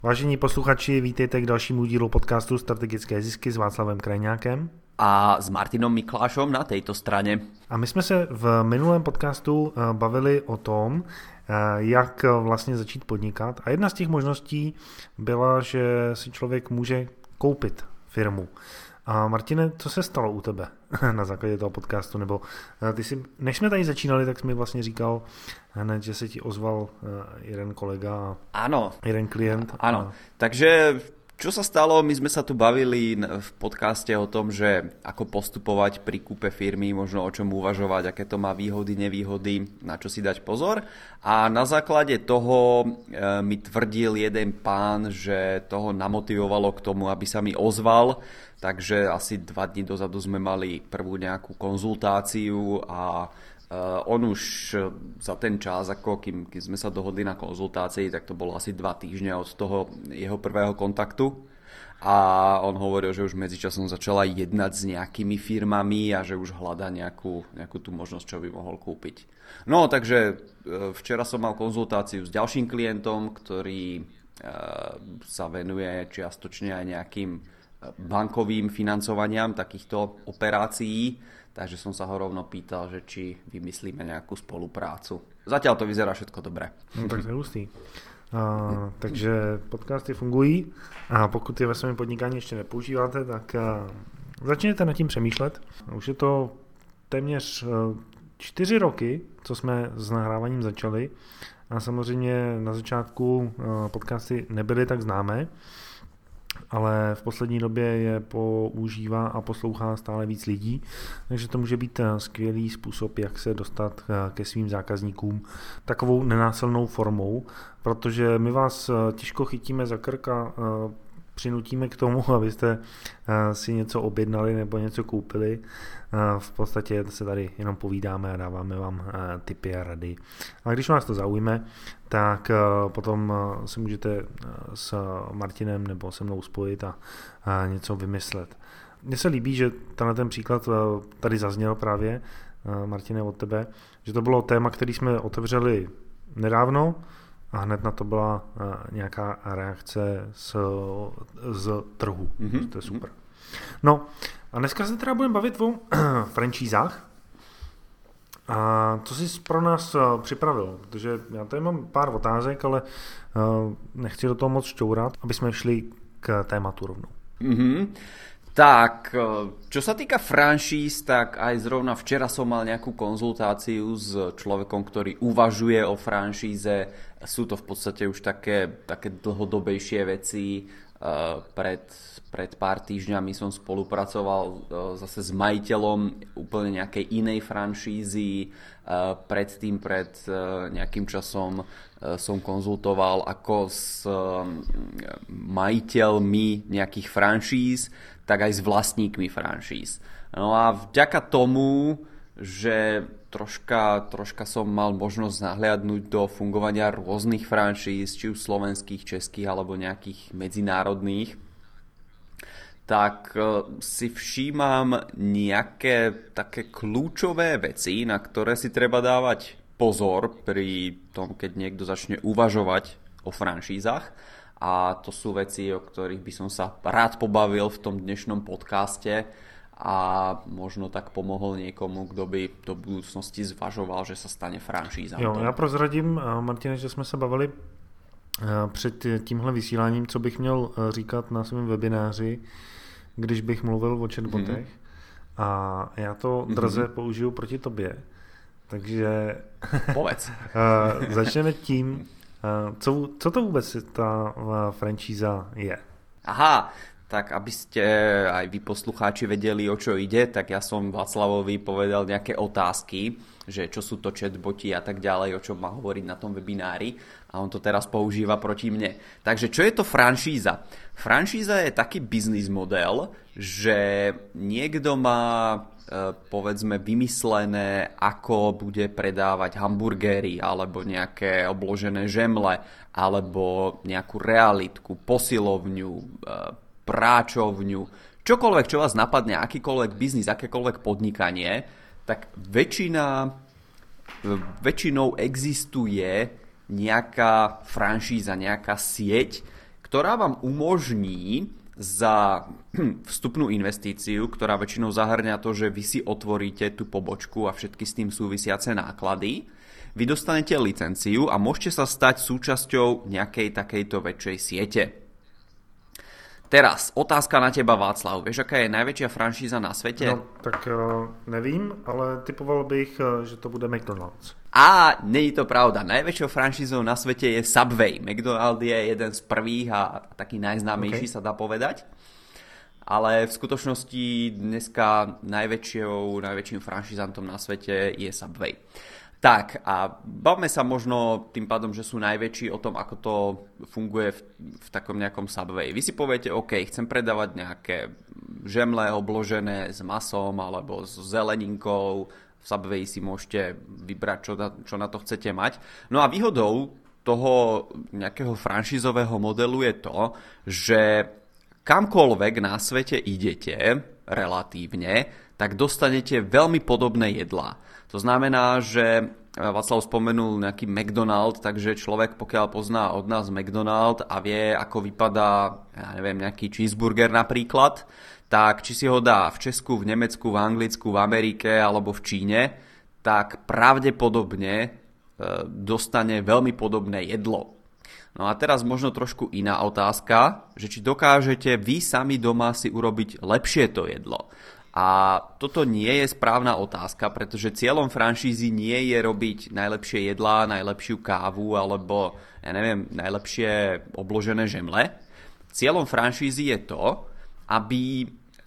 Vážení posluchači, vítejte k dalšímu dílu podcastu Strategické zisky s Václavem Krajňákem a s Martinom Miklášom na tejto strane. A my jsme se v minulém podcastu bavili o tom, jak vlastně začít podnikat. A jedna z těch možností byla, že si člověk může koupit firmu. A Martine, co se stalo u tebe na základě toho podcastu? Nebo ty si, než jsme tady začínali, tak jsi mi vlastně říkal hned, že se ti ozval jeden kolega a jeden klient. Áno, takže čo sa stalo? My sme sa tu bavili v podcaste o tom, že ako postupovať pri kúpe firmy, možno o čom uvažovať, aké to má výhody, nevýhody, na čo si dať pozor. A na základe toho mi tvrdil jeden pán, že toho namotivovalo k tomu, aby sa mi ozval. Takže asi 2 dní dozadu sme mali prvú nejakú konzultáciu a on už za ten čas, ako kým sme sa dohodli na konzultácii, tak to bolo asi 2 týždne od toho jeho prvého kontaktu. A on hovoril, že už medzičasom začala jednať s nejakými firmami a že už hľadá nejakú tú možnosť, čo by mohol kúpiť. No, takže včera som mal konzultáciu s ďalším klientom, ktorý sa venuje čiastočne aj nejakým bankovým financovaniam takýchto operácií. Takže som sa ho rovno pýtal, že či vymyslíme nejakú spoluprácu. Zatiaľ to vyzerá všetko dobre. No tak to je hustý. Takže podcasty fungují a pokud je ve svém podnikání ještě nepoužíváte, tak začněte nad tím přemýšlet. Už je to téměř 4 roky, co jsme s nahráváním začali a samozřejmě na začátku podcasty nebyly tak známé, ale v poslední době je používá a poslouchá stále víc lidí, takže to může být skvělý způsob, jak se dostat ke svým zákazníkům takovou nenásilnou formou, protože my vás těžko chytíme za krk a přinutíme k tomu, abyste si něco objednali nebo něco koupili. V podstatě se tady jenom povídáme a dáváme vám tipy a rady. A když vás to zaujme, tak potom se můžete s Martinem nebo se mnou spojit a něco vymyslet. Mně se líbí, že ten příklad tady zazněl právě, Martine, od tebe, že to bylo téma, který jsme otevřeli nedávno, a hned na to byla nějaká reakce z trhu. To je super. No a dneska se teda budeme bavit o franšízách. A co jsi pro nás připravil? Protože já tady mám pár otázek, ale nechci do toho moc šťourat, aby jsme šli k tématu rovnou. Tak, čo sa týka franšíz, tak aj zrovna včera som mal nejakú konzultáciu s človekom, ktorý uvažuje o franšíze. Sú to v podstate už také dlhodobejšie veci. Pred pár týždňami som spolupracoval zase s majiteľom úplne nejakej inej franšízy. Predtým, pred nejakým časom som konzultoval ako s majiteľmi nejakých franšíz, tak aj s vlastníkmi franšíz. No a vďaka tomu, že troška som mal možnosť nahliadnúť do fungovania rôznych franšíz, či už slovenských, českých alebo nejakých medzinárodných, tak si všímam nejaké také kľúčové veci, na ktoré si treba dávať pozor pri tom, keď niekto začne uvažovať o franšízach. A to sú veci, o ktorých by som sa rád pobavil v tom dnešnom podcaste a možno tak pomohol niekomu, kto by do budúcnosti zvažoval, že sa stane franšízantom. Jo, já prozradím, Martine, že jsme se bavili před tímhle vysíláním, co bych měl říkat na svém webináři, když bych mluvil o chatbotech. A já to drze použiju proti tobě. Takže povedz. Začneme tím, co to vůbec ta franšíza je? Aha, tak aby ste aj vy poslucháči vedeli, o čo ide, tak ja som Václavovi povedal nejaké otázky, že čo sú to chatboti a tak ďalej, o čom má hovoriť na tom webinári a on to teraz používa proti mne. Takže čo je to franšíza? Franšíza je taký biznis model, že niekto má povedzme vymyslené, ako bude predávať hamburgery alebo nejaké obložené žemle alebo nejakú realitku, posilovňu, práčovňu, čokoľvek, čo vás napadne, akýkoľvek biznis, akékoľvek podnikanie, tak väčšinou existuje nejaká franšíza, nejaká sieť, ktorá vám umožní za vstupnú investíciu, ktorá väčšinou zahrňa to, že vy si otvoríte tú pobočku a všetky s tým súvisiace náklady, vy dostanete licenciu a môžete sa stať súčasťou nejakej takejto väčšej siete. Teraz, otázka na teba, Václav. Vieš, aká je najväčšia franšíza na svete? No, tak nevím, ale typoval bych, že to bude McDonald's. A není to pravda. Najväčšou franšízou na svete je Subway. McDonald's je jeden z prvých a taký najznámejší, sa dá povedať. Ale v skutočnosti dneska najväčším franšízantom na svete je Subway. Tak a bavme sa možno tým pádom, že sú najväčší o tom, ako to funguje v takom nejakom Subway. Vy si poviete, OK, chcem predávať nejaké žemle obložené s masom alebo s zeleninkou. V Subway si môžete vybrať, čo na to chcete mať. No a výhodou toho nejakého franšízového modelu je to, že kamkoľvek na svete idete relatívne, tak dostanete veľmi podobné jedlá. To znamená, že Václav spomenul nejaký McDonald, takže človek, pokiaľ pozná od nás McDonald a vie, ako vypadá, ja neviem, nejaký cheeseburger napríklad, tak či si ho dá v Česku, v Nemecku, v Anglicku, v Amerike alebo v Číne, tak pravdepodobne dostane veľmi podobné jedlo. No a teraz možno trošku iná otázka, že či dokážete vy sami doma si urobiť lepšie to jedlo. A toto nie je správna otázka, pretože cieľom franšízy nie je robiť najlepšie jedlá, najlepšiu kávu alebo, ja neviem, najlepšie obložené žemle. Cieľom franšízy je to, aby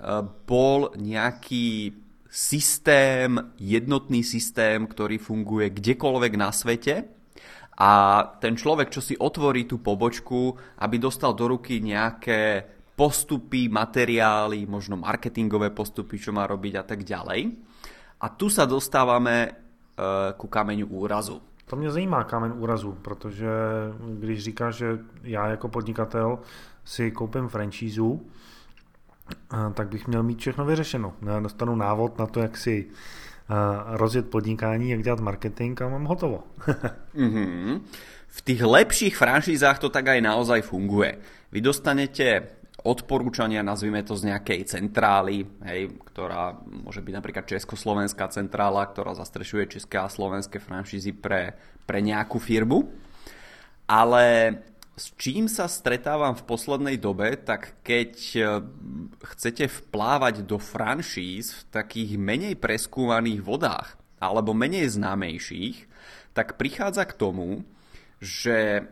bol nejaký systém, jednotný systém, ktorý funguje kdekoľvek na svete a ten človek, čo si otvorí tú pobočku, aby dostal do ruky nejaké postupy, materiály, možno marketingové postupy, čo má robiť a tak ďalej. A tu sa dostávame ku kameňu úrazu. To mě zajímá kámen úrazu, protože když říkáš, že já jako podnikatel si koupím franšízu, tak bych měl mít všechno vyřešeno. Já dostanu návod na to, jak si rozjet podnikání, jak dělat marketing a mám hotovo. V tých lepších franšízách to tak aj naozaj funguje. Vy dostanete odporúčania, nazvime to z nejakej centrály, ktorá môže byť napríklad československá centrála, ktorá zastrešuje české a slovenské franšízy pre nejakú firmu. Ale s čím sa stretávam v poslednej dobe, tak keď chcete vplávať do franšíz v takých menej preskúmaných vodách alebo menej známejších, tak prichádza k tomu, že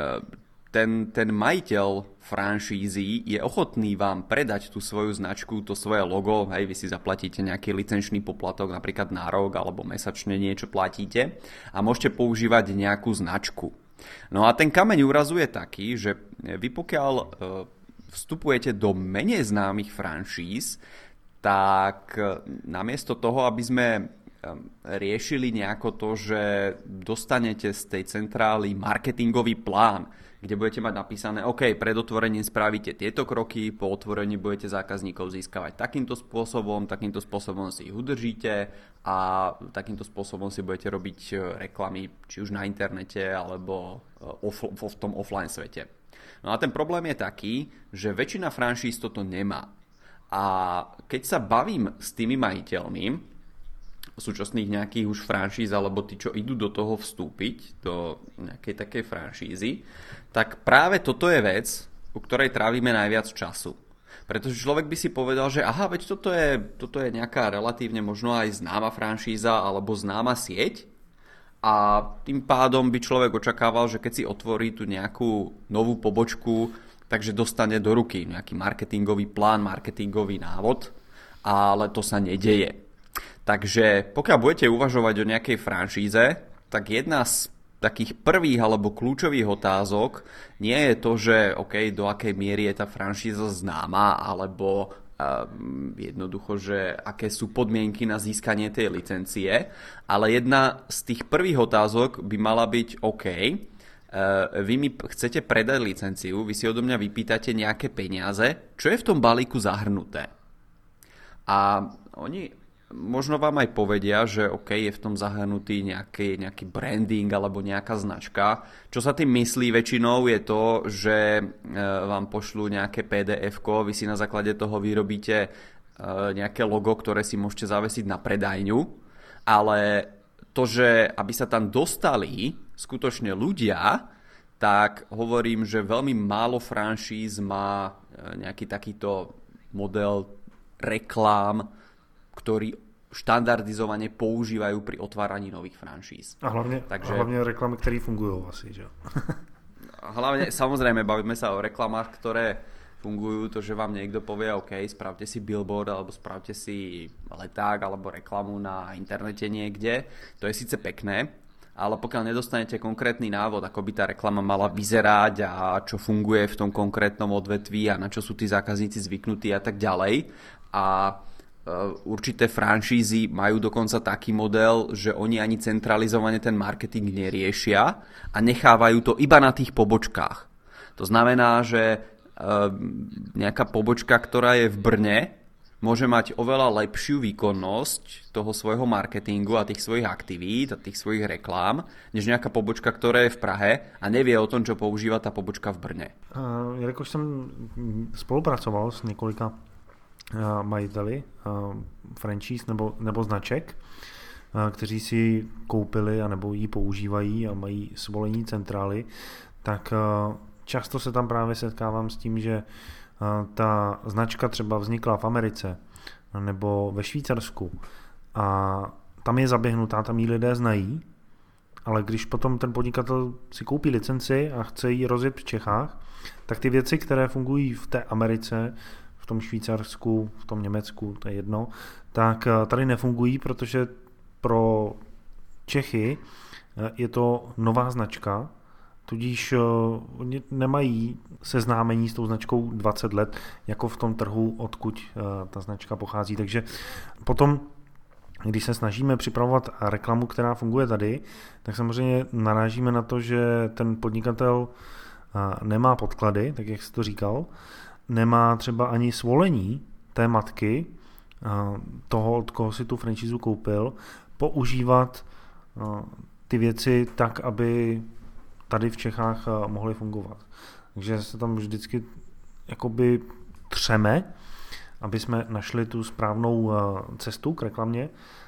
ten majiteľ franšízy je ochotný vám predať tú svoju značku, to svoje logo, vy si zaplatíte nejaký licenčný poplatok napríklad na rok alebo mesačne niečo platíte a môžete používať nejakú značku. No a ten kameň úrazu je taký, že vy pokiaľ vstupujete do menej známych franšíz, tak namiesto toho, aby sme riešili nejako to, že dostanete z tej centrály marketingový plán, kde budete mať napísané, OK, pred otvorením spravíte tieto kroky, po otvorení budete zákazníkov získavať takýmto spôsobom si ich udržíte a takýmto spôsobom si budete robiť reklamy, či už na internete alebo v tom offline svete. No a ten problém je taký, že väčšina franšíz toto nemá. A keď sa bavím s tými majiteľmi súčasných nejakých už franšíz alebo tí, čo idú do toho vstúpiť, do nejakej takej franšízy, tak práve toto je vec, u ktorej trávime najviac času. Pretože človek by si povedal, že aha, veď toto je nejaká relatívne možno aj známa franšíza alebo známa sieť a tým pádom by človek očakával, že keď si otvorí tú nejakú novú pobočku, takže dostane do ruky nejaký marketingový plán, marketingový návod, ale to sa nedeje. Takže pokiaľ budete uvažovať o nejakej franšíze, tak jedna z takých prvých alebo kľúčových otázok nie je to, že OK, do akej miery je tá franšíza známa, alebo jednoducho, že aké sú podmienky na získanie tej licencie, ale jedna z tých prvých otázok by mala byť OK, vy mi chcete predať licenciu, vy si odo mňa vypýtate nejaké peniaze, čo je v tom balíku zahrnuté? A oni možno vám aj povedia, že OK, je v tom zahrnutý nejaký branding alebo nejaká značka. Čo sa tým myslí väčšinou je to, že vám pošlú nejaké PDF-ko, vy si na základe toho vyrobíte nejaké logo, ktoré si môžete zavesiť na predajňu, ale to, že aby sa tam dostali skutočne ľudia, tak hovorím, že veľmi málo franšíz má nejaký takýto model reklám, ktorý štandardizovane používajú pri otváraní nových franšíz. A hlavne reklamy, ktoré fungujú asi, že? Hlavne, samozrejme, bavíme sa o reklamách, ktoré fungujú, to, že vám niekto povie, OK, spravte si billboard, alebo spravte si leták, alebo reklamu na internete niekde. To je síce pekné, ale pokiaľ nedostanete konkrétny návod, ako by tá reklama mala vyzerať a čo funguje v tom konkrétnom odvetví a na čo sú tí zákazníci zvyknutí a tak ďalej. A určité franšízy majú dokonca taký model, že oni ani centralizovane ten marketing neriešia a nechávajú to iba na tých pobočkách. To znamená, že nejaká pobočka, ktorá je v Brne, môže mať oveľa lepšiu výkonnosť toho svojho marketingu a tých svojich aktivít a tých svojich reklám, než nejaká pobočka, ktorá je v Prahe a nevie o tom, čo používa tá pobočka v Brne. Jelikož jsem spolupracoval s několika majiteli franšíz nebo značek, kteří si koupili anebo ji používají a mají svolení centrály, tak často se tam právě setkávám s tím, že ta značka třeba vznikla v Americe nebo ve Švýcarsku a tam je zaběhnutá, tam ji lidé znají, ale když potom ten podnikatel si koupí licenci a chce ji rozjet v Čechách, tak ty věci, které fungují v té Americe, v tom Švýcarsku, v tom Německu, to je jedno, tak tady nefungují, protože pro Čechy je to nová značka, tudíž oni nemají seznámení s tou značkou 20 let, jako v tom trhu, odkud ta značka pochází. Takže potom, když se snažíme připravovat reklamu, která funguje tady, tak samozřejmě narážíme na to, že ten podnikatel nemá podklady, tak jak jsi to říkal, nemá třeba ani svolení té matky, toho, od koho si tu franšízu koupil, používat ty věci tak, aby tady v Čechách mohly fungovat. Takže se tam vždycky jakoby třeme, aby jsme našli tu správnou cestu k reklamě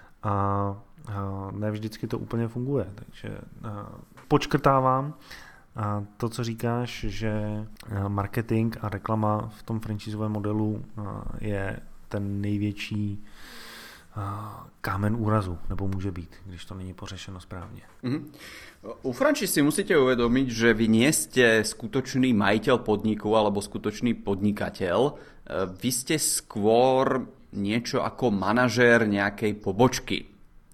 a ne vždycky to úplně funguje. Takže počkrtávám to, co říkáš, že marketing a reklama v tom franšízovém modelu je ten největší kámen úrazu, nebo môže byť, když to není pořešeno správne. U franšíz si musíte uvedomiť, že vy nie ste skutočný majiteľ podniku alebo skutočný podnikateľ. Vy ste skôr niečo ako manažér nejakej pobočky.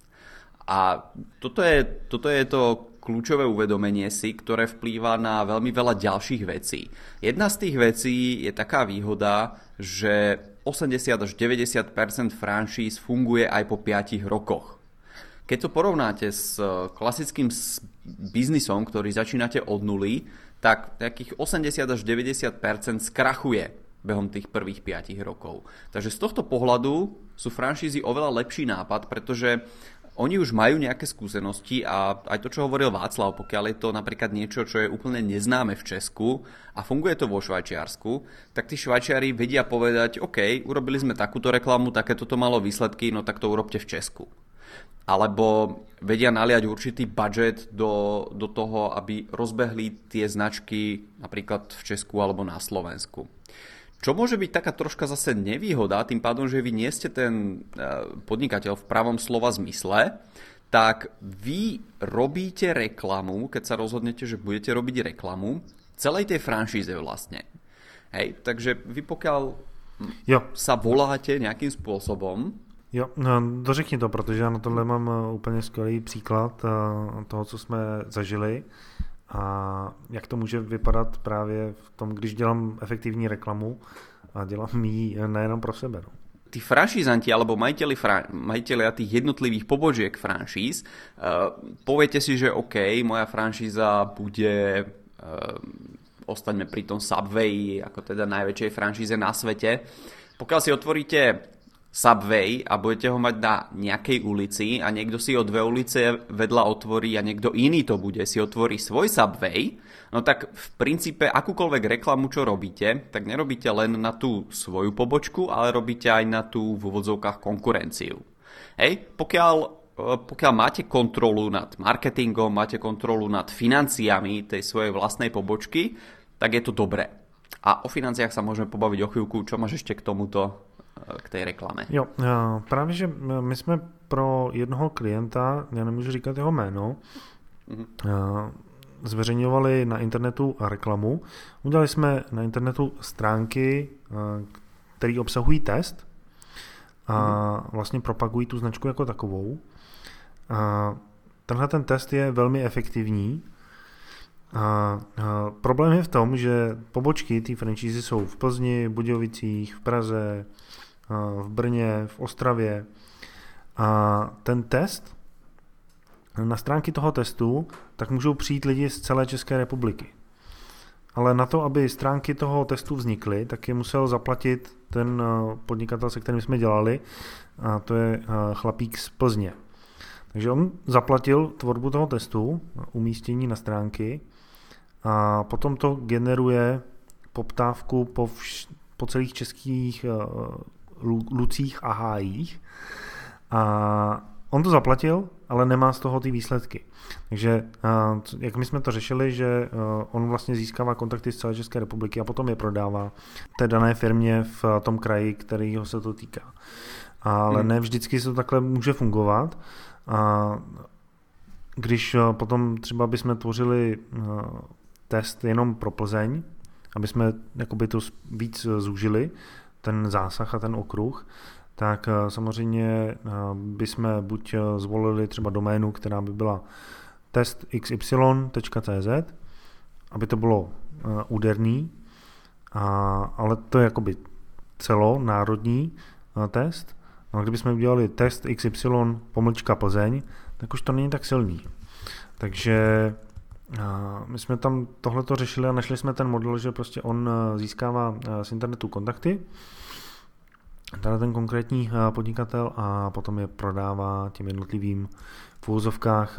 A toto je to kľúčové uvedomenie si, ktoré vplýva na veľmi veľa ďalších vecí. Jedna z tých vecí je taká výhoda, že 80 až 90% franšíz funguje aj po 5 rokoch. Keď to porovnáte s klasickým biznisom, ktorý začínate od nuly, tak takých 80 až 90% skrachuje behom tých prvých 5 rokov. Takže z tohto pohľadu sú franšízy oveľa lepší nápad, pretože oni už majú nejaké skúsenosti a aj to, čo hovoril Václav, pokiaľ je to napríklad niečo, čo je úplne neznáme v Česku a funguje to vo Švajčiarsku, tak tí Švajčiari vedia povedať, OK, urobili sme takúto reklamu, takéto to malo výsledky, no tak to urobte v Česku. Alebo vedia naliať určitý budget do toho, aby rozbehli tie značky napríklad v Česku alebo na Slovensku. Čo môže byť taká troška zase nevýhoda, tým pádom, že vy nie ste ten podnikateľ v pravom slova zmysle, tak vy robíte reklamu, keď sa rozhodnete, že budete robiť reklamu, celej tej franšíze vlastne. Hej, takže vy pokiaľ sa voláte nejakým spôsobom. Jo, no, dořekni to, protože já na tohle mám úplně skvělý příklad toho, co jsme zažili. A jak to může vypadat právě v tom, když dělám efektivní reklamu a dělám ji nejenom pro sebe. No. Tí franšízanti alebo majitelia tých jednotlivých pobožiek franšíz, poviete si, že OK, moja franšíza bude, ostaňme pri tom Subway, ako teda najväčšej franšíze na svete. Pokiaľ si otvoríte Subway a budete ho mať na nejakej ulici a niekto si o 2 ulice vedľa otvorí a niekto iný to bude, si otvorí svoj Subway, no tak v princípe akúkoľvek reklamu, čo robíte, tak nerobíte len na tú svoju pobočku, ale robíte aj na tú v úvodzovkách konkurenciu. Hej, pokiaľ máte kontrolu nad marketingom, máte kontrolu nad financiami tej svojej vlastnej pobočky, tak je to dobré. A o financiách sa môžeme pobaviť o chvíľku. Čo máš ešte k tomuto, k tej reklame? Jo, právě, že my jsme pro jednoho klienta, já nemůžu říkat jeho jméno, zveřejňovali na internetu reklamu. Udělali jsme na internetu stránky, které obsahují test a vlastně propagují tu značku jako takovou. Tenhle ten test je velmi efektivní. Problém je v tom, že pobočky té franšízy jsou v Plzni, v Budějovicích, v Praze, v Brně, v Ostravě. A ten test, na stránky toho testu, tak můžou přijít lidi z celé České republiky. Ale na to, aby stránky toho testu vznikly, tak je musel zaplatit ten podnikatel, se kterým jsme dělali, a to je chlapík z Plzně. Takže on zaplatil tvorbu toho testu, umístění na stránky a potom to generuje poptávku po celých českých lucích a hájích. A on to zaplatil, ale nemá z toho ty výsledky. Takže jak my jsme to řešili, že on vlastně získává kontakty z celé České republiky a potom je prodává té dané firmě v tom kraji, kterýho se to týká. Ale ne vždycky se to takhle může fungovat. A když potom třeba bychom tvořili test jenom pro Plzeň, aby jsme jakoby to víc zúžili, ten zásah a ten okruh, tak samozřejmě bychom buď zvolili třeba doménu, která by byla testxy.cz, aby to bylo úderný, ale to je jakoby celonárodní test. No a kdybychom udělali test XY_Plzeň, tak už to není tak silný. Takže my jsme tam tohleto řešili a našli jsme ten model, že prostě on získává z internetu kontakty, tady ten konkrétní podnikatel, a potom je prodává těm jednotlivým v úvozovkách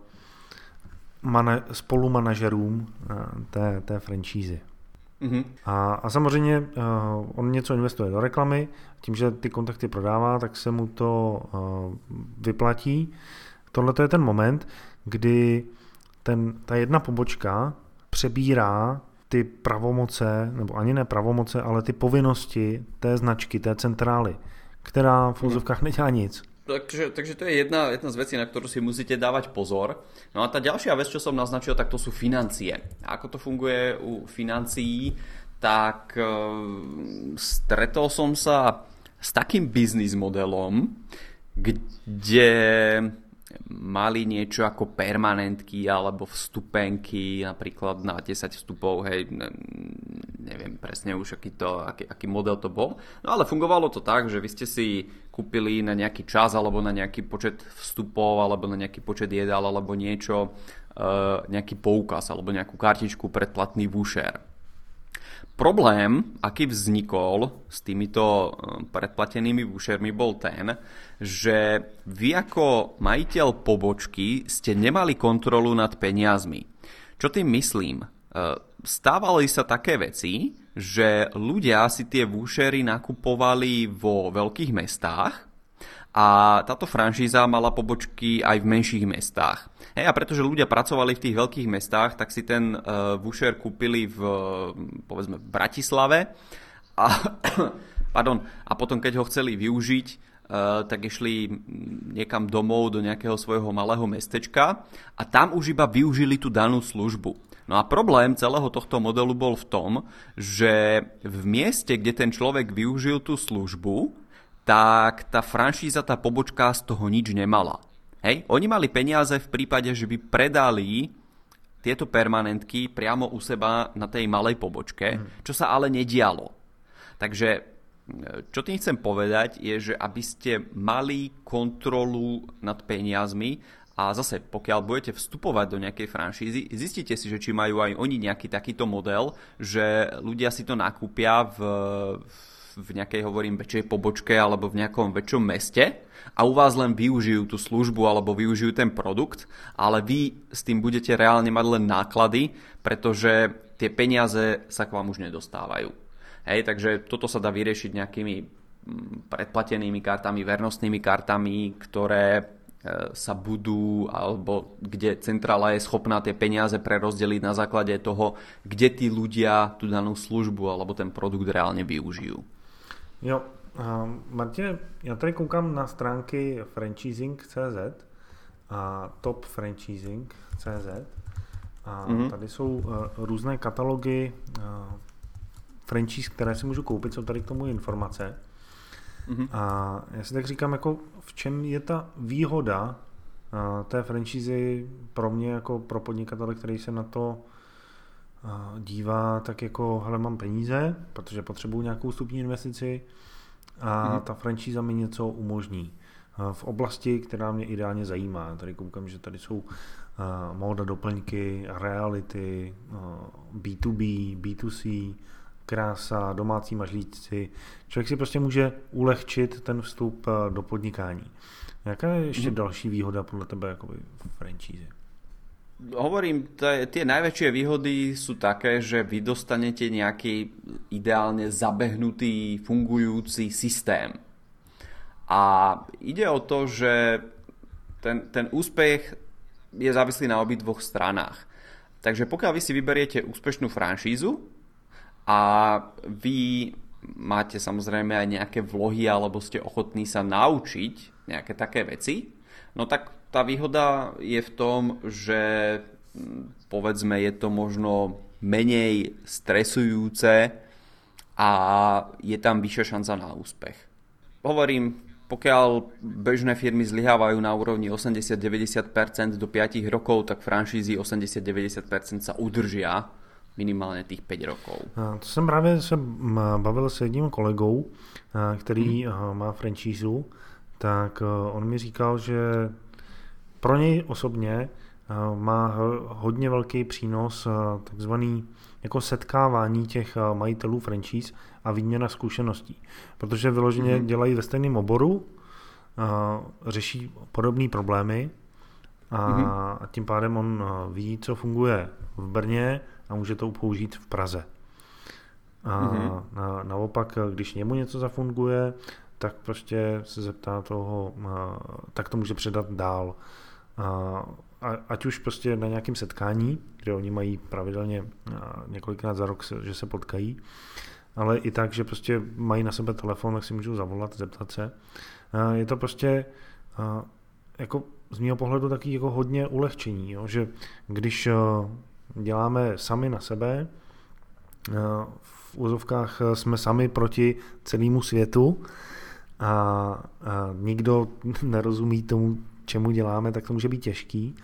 spolumanažerům té franšízy. A samozřejmě on něco investuje do reklamy, tím, že ty kontakty prodává, tak se mu to vyplatí. Tohle je ten moment, kdy ta jedna pobočka přebírá ty pravomoce, nebo ani ne pravomoce, ale ty povinnosti té značky, té centrály, která v úzovkách nedělá nic. Takže to je jedna z vecí, na ktorú si musíte dávať pozor. No a tá ďalšia vec, čo som naznačil, tak to sú financie. A ako to funguje u financií, tak stretol som sa s takým biznis modelom, kde mali niečo ako permanentky alebo vstupenky, napríklad na 10 vstupov, hej, neviem presne už aký model to bol. No ale fungovalo to tak, že vy ste si kúpili na nejaký čas alebo na nejaký počet vstupov alebo na nejaký počet jedál alebo niečo, nejaký poukaz alebo nejakú kartičku predplatný voucher. Problém, aký vznikol s týmito predplatenými vouchermi, bol ten, že vy ako majiteľ pobočky ste nemali kontrolu nad peniazmi. Čo tým myslím? Stávali sa také veci, že ľudia si tie vouchery nakupovali vo veľkých mestách a táto franšíza mala pobočky aj v menších mestách. Hej, a pretože ľudia pracovali v tých veľkých mestách, tak si ten voucher kúpili povedzme v Bratislave a potom keď ho chceli využiť, tak išli niekam domov do nejakého svojho malého mestečka a tam už iba využili tú danú službu. No a problém celého tohto modelu bol v tom, že v mieste, kde ten človek využil tú službu, tak tá franšíza, tá pobočka z toho nič nemala. Hej? Oni mali peniaze v prípade, že by predali tieto permanentky priamo u seba na tej malej pobočke, čo sa ale nedialo. Takže čo tým chcem povedať je, že aby ste mali kontrolu nad peniazmi a zase pokiaľ budete vstupovať do nejakej franšízy, zistite si, že či majú aj oni nejaký takýto model, že ľudia si to nakúpia v v nejakej, hovorím, väčšej pobočke alebo v nejakom väčšom meste a u vás len využijú tú službu alebo využijú ten produkt, ale vy s tým budete reálne mať len náklady, pretože tie peniaze sa k vám už nedostávajú. Hej, takže toto sa dá vyriešiť nejakými predplatenými kartami, vernostnými kartami, ktoré sa budú, alebo kde centrála je schopná tie peniaze prerozdeliť na základe toho, kde tí ľudia tú danú službu alebo ten produkt reálne využijú. Jo, Martine, já tady koukám na stránky franchising.cz a topfranchising.cz a tady jsou různé katalogy franchise, které si můžu koupit, jsou tady k tomu informace. A já si tak říkám, jako v čem je ta výhoda té franšízy pro mě, jako pro podnikatele, který se na to dívá, tak jako, hele, mám peníze, protože potřebuju nějakou vstupní investici a ta franšíza mi něco umožní. V oblasti, která mě ideálně zajímá. Tady koukám, že tady jsou móda, doplňky, reality, B2B, B2C, krása, domácí mažlíci. Člověk si prostě může ulehčit ten vstup do podnikání. Jaká je ještě další výhoda podle tebe jakoby v franšíze? Hovorím, tie najväčšie výhody sú také, že vy dostanete nejaký ideálne zabehnutý, fungujúci systém. A ide o to, že ten úspech je závislý na obidvoch stranách. Takže pokiaľ vy si vyberiete úspešnú franšízu a vy máte samozrejme aj nejaké vlohy alebo ste ochotní sa naučiť nejaké také veci, no tak tá výhoda je v tom, že povedzme je to možno menej stresujúce a je tam vyššia šanca na úspech. Hovorím, pokiaľ bežné firmy zlyhávajú na úrovni 80-90% do 5 rokov, tak franšízy 80-90% sa udržia minimálně těch 5 rokov. To jsem právě se bavil s jedním kolegou, který má franšízu, tak on mi říkal, že pro něj osobně má hodně velký přínos takzvaný jako setkávání těch majitelů franšíz a výměna zkušeností. Protože vyloženě dělají ve stejném oboru, řeší podobné problémy a tím pádem on ví, co funguje v Brně a může to použít v Praze. Naopak, když němu něco zafunguje, tak prostě se zeptá toho, tak to může předat dál. Ať už prostě na nějakém setkání, kde oni mají pravidelně několikrát za rok, že se potkají, ale i tak, že prostě mají na sebe telefon, tak si můžou zavolat, zeptat se. Je to prostě jako z mého pohledu taky jako hodně ulehčení, jo? Že když děláme sami na sebe, v úzovkách jsme sami proti celému světu a nikdo nerozumí tomu, čemu děláme, tak to může být těžký.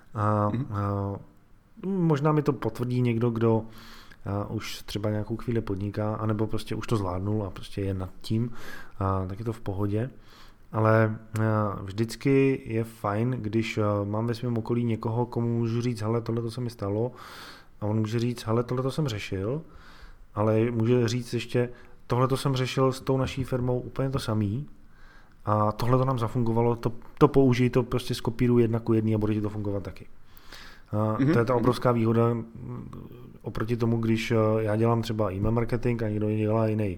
Možná mi to potvrdí někdo, kdo už třeba nějakou chvíli podniká, anebo prostě už to zvládnul a prostě je nad tím, tak je to v pohodě. Ale vždycky je fajn, když mám ve svém okolí někoho, komu můžu říct, hele, tohle to se mi stalo, a on může říct, hele, tohle to jsem řešil, ale může říct ještě, tohle to jsem řešil s tou naší firmou úplně to samý a tohle to nám zafungovalo, to použij, to prostě skopíruj 1:1 a bude ti to fungovat taky. To je ta obrovská výhoda oproti tomu, když já dělám třeba e-mail marketing a někdo dělá jiný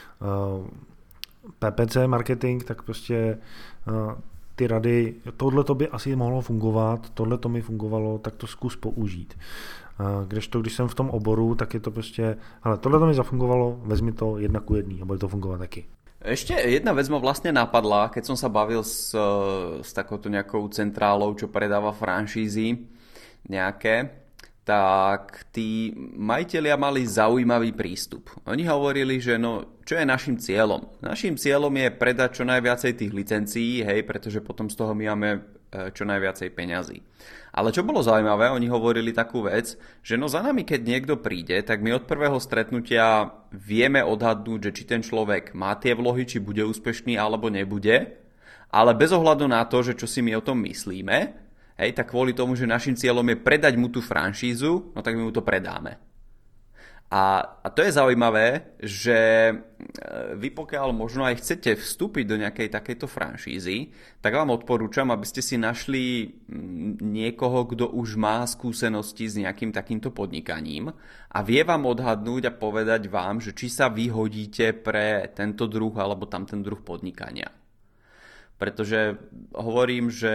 PPC marketing, tak prostě ty rady, tohle to by asi mohlo fungovat, tohle to mi fungovalo, tak to zkus použít. Kdežto, když jsem v tom oboru, tak je to prostě, hele, tohle to mi zafungovalo, vezmi to 1:1 a bude to fungovat taky. Ešte jedna vec ma vlastne napadla, keď som sa bavil s takouto nejakou centrálou, čo predáva franšízy nejaké, tak tí majitelia mali zaujímavý prístup. Oni hovorili, že no, čo je našim cieľom? Našim cieľom je predať čo najviacej tých licencií, hej, pretože potom z toho my máme čo najviacej peňazí. Ale čo bolo zaujímavé, oni hovorili takú vec, že no za nami, keď niekto príde, tak my od prvého stretnutia vieme odhadnúť, že či ten človek má tie vlohy, či bude úspešný alebo nebude, ale bez ohľadu na to, že čo si my o tom myslíme, hej, tak kvôli tomu, že našim cieľom je predať mu tú franšízu, no tak my mu to predáme. A to je zaujímavé, že vy pokiaľ možno aj chcete vstúpiť do nejakej takejto franšízy, tak vám odporúčam, aby ste si našli niekoho, kto už má skúsenosti s nejakým takýmto podnikaním a vie vám odhadnúť a povedať vám, že či sa vyhodíte pre tento druh alebo tamten druh podnikania. Pretože hovorím, že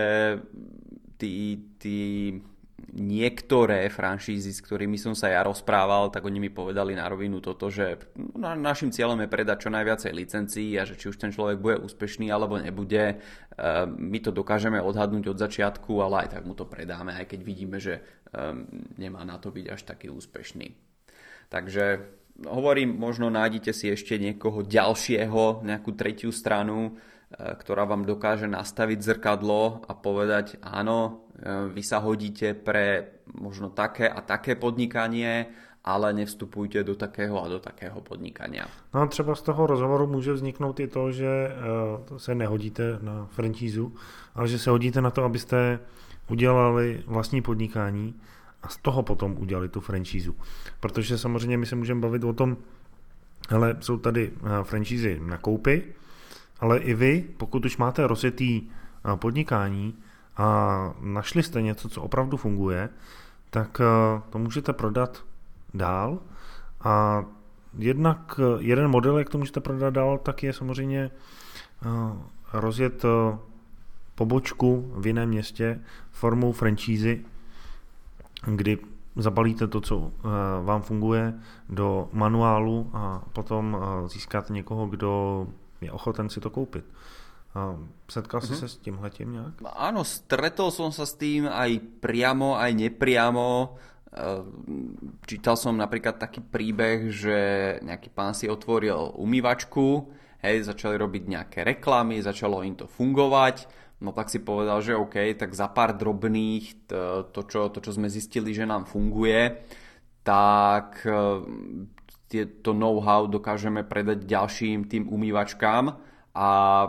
niektoré franšízy, s ktorými som sa ja rozprával, tak oni mi povedali na rovinu toto, že našim cieľom je predať čo najviacej licencií a že či už ten človek bude úspešný alebo nebude, my to dokážeme odhadnúť od začiatku, ale aj tak mu to predáme, aj keď vidíme, že nemá na to byť až taký úspešný. Takže hovorím, možno nájdete si ešte niekoho ďalšieho, nejakú tretiu stranu, ktorá vám dokáže nastaviť zrkadlo a povedať áno, vy sa hodíte pre možno také a také podnikanie, ale nevstupujte do takého a do takého podnikania. No a třeba z toho rozhovoru může vzniknout i to, že se nehodíte na franšízu, ale že se hodíte na to, abyste udělali vlastní podnikání a z toho potom udělali tu franšízu. Protože samozřejmě my se můžeme bavit o tom, hele, jsou tady franšízy na koupy, ale i vy, pokud už máte rozjetý podnikání a našli jste něco, co opravdu funguje, tak to můžete prodat dál. A jednak jeden model, jak to můžete prodat dál, tak je samozřejmě rozjet pobočku v jiném městě formou franšízy, kdy zabalíte to, co vám funguje, do manuálu a potom získáte někoho, kdo je ochoten si to koupit. Setkal si sa s tímhletím nejak? Áno, stretol som sa s tým aj priamo, aj nepriamo. Čítal som napríklad taký príbeh, že nejaký pán si otvoril umývačku, začali robiť nejaké reklamy, začalo im to fungovať, no tak si povedal, že OK, tak za pár drobných to, čo sme zistili, že nám funguje, tak to know-how dokážeme predať ďalším tým umývačkám a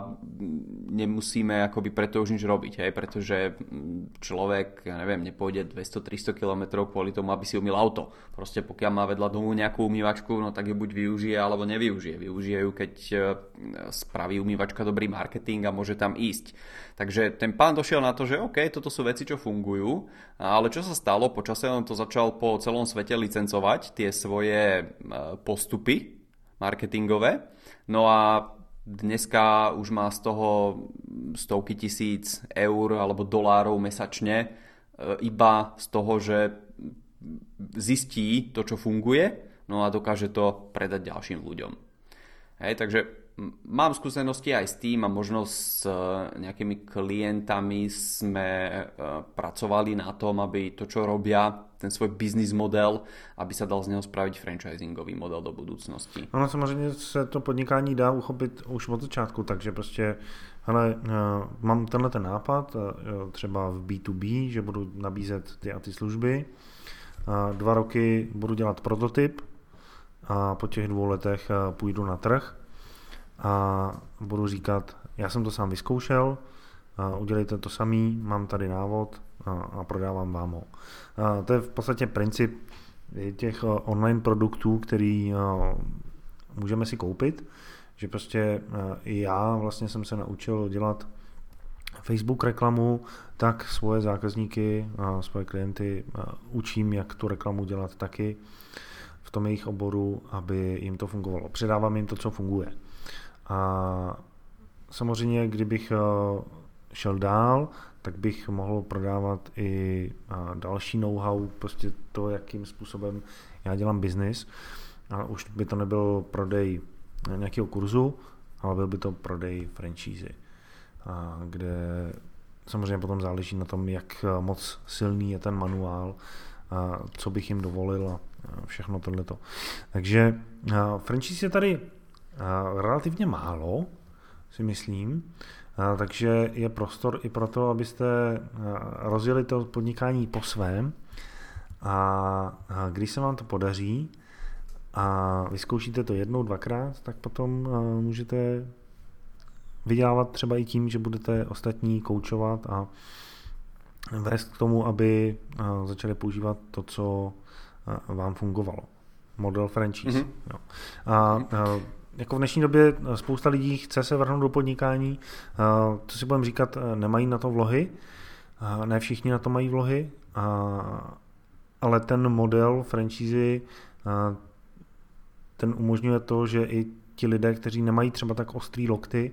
nemusíme akoby preto už nič robiť, pretože človek, ja neviem, nepôjde 200-300 km kvôli tomu, aby si umýl auto. Proste pokiaľ má vedľa domu nejakú umývačku, no tak ju buď využije, alebo nevyužije. Využije ju, keď spraví umývačka dobrý marketing a môže tam ísť. Takže ten pán došiel na to, že OK, toto sú veci, čo fungujú, ale čo sa stalo? Počase on to začal po celom svete licencovať, tie svoje postupy marketingové, no a dneska už má z toho stovky tisíc eur alebo dolárov mesačne iba z toho, že zistí to, čo funguje, no a dokáže to predať ďalším ľuďom. Takže mám skúsenosti aj s tým a možno s nejakými klientami sme pracovali na tom, aby to, čo robia, ten svoj business model, aby sa dal z něho spraviť franchisingový model do budoucnosti. No samozřejmě se to podnikání dá uchopit už od začátku, takže prostě hele, mám tenhle ten nápad, třeba v B2B, že budu nabízet ty a ty služby, 2 roky budu dělat prototyp a po těch 2 letech půjdu na trh a budu říkat, já jsem to sám vyzkoušel, udělejte to samý, mám tady návod a prodávám vám ho. To je v podstatě princip těch online produktů, který můžeme si koupit, že prostě i já vlastně jsem se naučil dělat Facebook reklamu, tak svoje zákazníky, svoje klienty učím, jak tu reklamu dělat taky v tom jejich oboru, aby jim to fungovalo. Předávám jim to, co funguje. A samozřejmě, kdybych šel dál, tak bych mohl prodávat i další know-how, prostě to, jakým způsobem já dělám biznis. A už by to nebyl prodej nějakého kurzu, ale byl by to prodej franšízy, kde samozřejmě potom záleží na tom, jak moc silný je ten manuál, co bych jim dovolil a všechno tohleto. Takže franšíz je tady relativně málo, si myslím, takže je prostor i pro to, abyste rozjeli to podnikání po svém a když se vám to podaří a vyzkoušíte to 1, 2krát, tak potom můžete vydělávat třeba i tím, že budete ostatní koučovat a vést k tomu, aby začali používat to, co vám fungovalo. Model franchise. Mm-hmm. Jo. A jako v dnešní době spousta lidí chce se vrhnout do podnikání, co si budeme říkat, nemají na to vlohy, ne všichni na to mají vlohy, ale ten model franšízy ten umožňuje to, že i ti lidé, kteří nemají třeba tak ostrý lokty,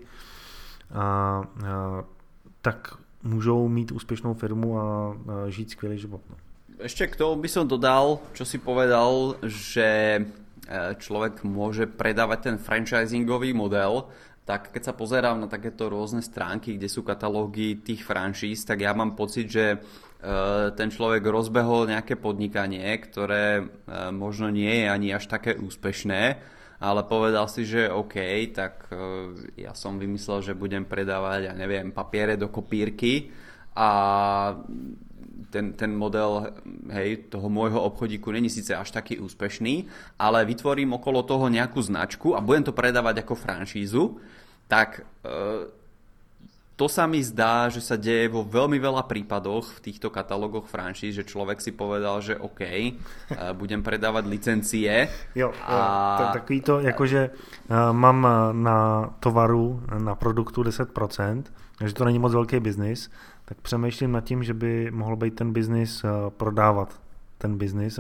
tak můžou mít úspěšnou firmu a žít skvělý život. Ešte k tomu by som dodal, čo si povedal, že človek môže predávať ten franchisingový model, tak keď sa pozerám na takéto rôzne stránky, kde sú katalógy tých franšíz, tak ja mám pocit, že ten človek rozbehol nejaké podnikanie, ktoré možno nie je ani až také úspešné, ale povedal si, že OK, tak ja som vymyslel, že budem predávať, ja neviem, papiere do kopírky a ten model, hej, toho môjho obchodíku není síce až taký úspešný, ale vytvorím okolo toho nejakú značku a budem to predávať ako franšízu, tak to sa mi zdá, že sa deje vo veľmi veľa prípadoch v týchto katalógoch franšíz, že človek si povedal, že OK, budem predávať licencie. Jo, takový to, jakože mám na tovaru, na produktu 10%, takže to není moc velký biznis, tak přemýšlím nad tím, že by mohl být ten biznis prodávat ten biznis.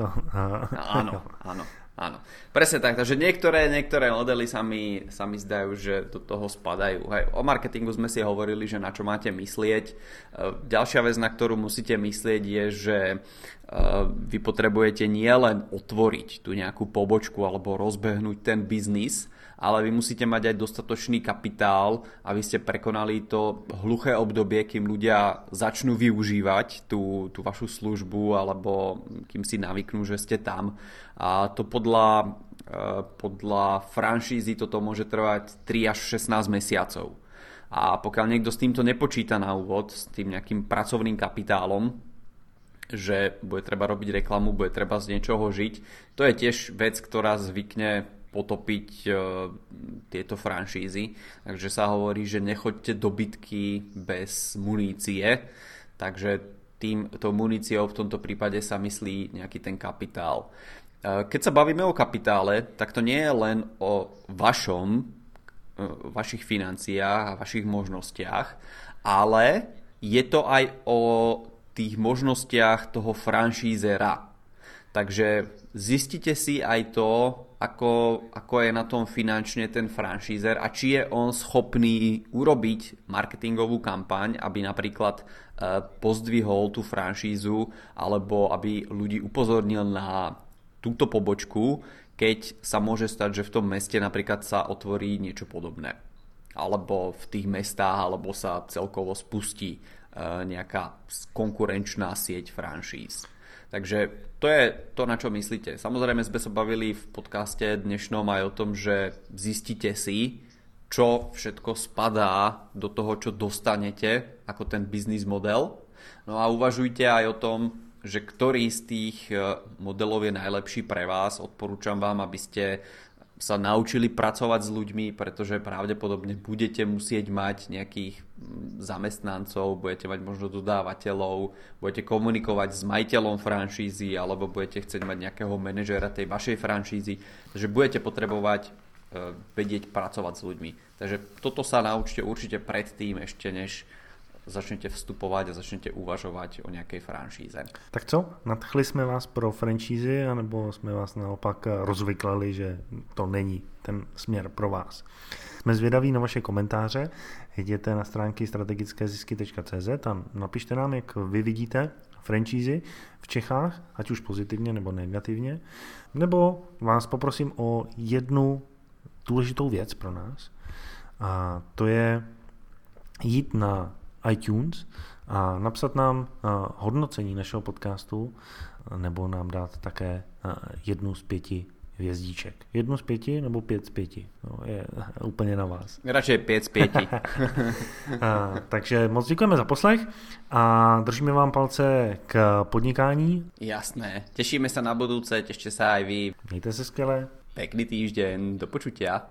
Áno. Presne tak, takže niektoré modely sa mi zdajú, že do toho spadajú. Hej, o marketingu sme si hovorili, že na čo máte myslieť. Ďalšia vec, na ktorú musíte myslieť, je, že vy potrebujete nielen otvoriť tú nejakú pobočku alebo rozbehnúť ten biznis, ale vy musíte mať aj dostatočný kapitál, aby ste prekonali to hluché obdobie, kým ľudia začnú využívať tú vašu službu alebo kým si navyknú, že ste tam. A to podľa franšízy toto môže trvať 3 až 16 mesiacov. A pokiaľ niekto s týmto nepočíta na úvod, s tým nejakým pracovným kapitálom, že bude treba robiť reklamu, bude treba z niečoho žiť, to je tiež vec, ktorá zvykne potopiť tieto franšízy. Takže sa hovorí, že nechoďte do bitky bez munície. Takže tou muníciou v tomto prípade sa myslí nejaký ten kapitál. Keď sa bavíme o kapitále, tak to nie je len o vašich financiách a vašich možnostiach, ale je to aj o tých možnostiach toho franšízera. Takže zistite si aj to, ako je na tom finančne ten franšízer a či je on schopný urobiť marketingovú kampaň, aby napríklad pozdvihol tú franšízu alebo aby ľudí upozornil na túto pobočku, keď sa môže stať, že v tom meste napríklad sa otvorí niečo podobné. Alebo v tých mestách, alebo sa celkovo spustí nejaká konkurenčná sieť franšíz. Takže to je to, na čo myslíte. Samozrejme sme sa bavili v podcaste dnešnom aj o tom, že zistíte si, čo všetko spadá do toho, čo dostanete ako ten business model. No a uvažujte aj o tom, že ktorý z tých modelov je najlepší pre vás. Odporúčam vám, aby ste sa naučili pracovať s ľuďmi, pretože pravdepodobne budete musieť mať nejakých zamestnancov, budete mať možno dodávateľov, budete komunikovať s majiteľom franšízy alebo budete chcieť mať nejakého manažéra tej vašej franšízy, takže budete potrebovať vedieť pracovať s ľuďmi. Takže toto sa naučte určite predtým, ešte než začnete vstupovať a začnete uvažovať o nějaké franšíze. Tak co? Nadchli jsme vás pro franšízy, anebo jsme vás naopak rozvyklali, že to není ten směr pro vás? Jsme zvědaví na vaše komentáře. Jděte na stránky strategickézisky.cz a napište nám, jak vy vidíte franšízy v Čechách, ať už pozitivně nebo negativně. Nebo vás poprosím o jednu důležitou věc pro nás. A to je jít na iTunes a napsat nám hodnocení našeho podcastu nebo nám dát také 1 z 5 hvězdíček. 1 z 5 nebo 5 z 5. No, je úplně na vás. Radšej 5 z 5. Takže moc děkujeme za poslech a držíme vám palce k podnikání. Jasné. Tešíme sa na budúce, tešte sa aj vy. Mějte se skvěle. Pekný týždeň, do počutia.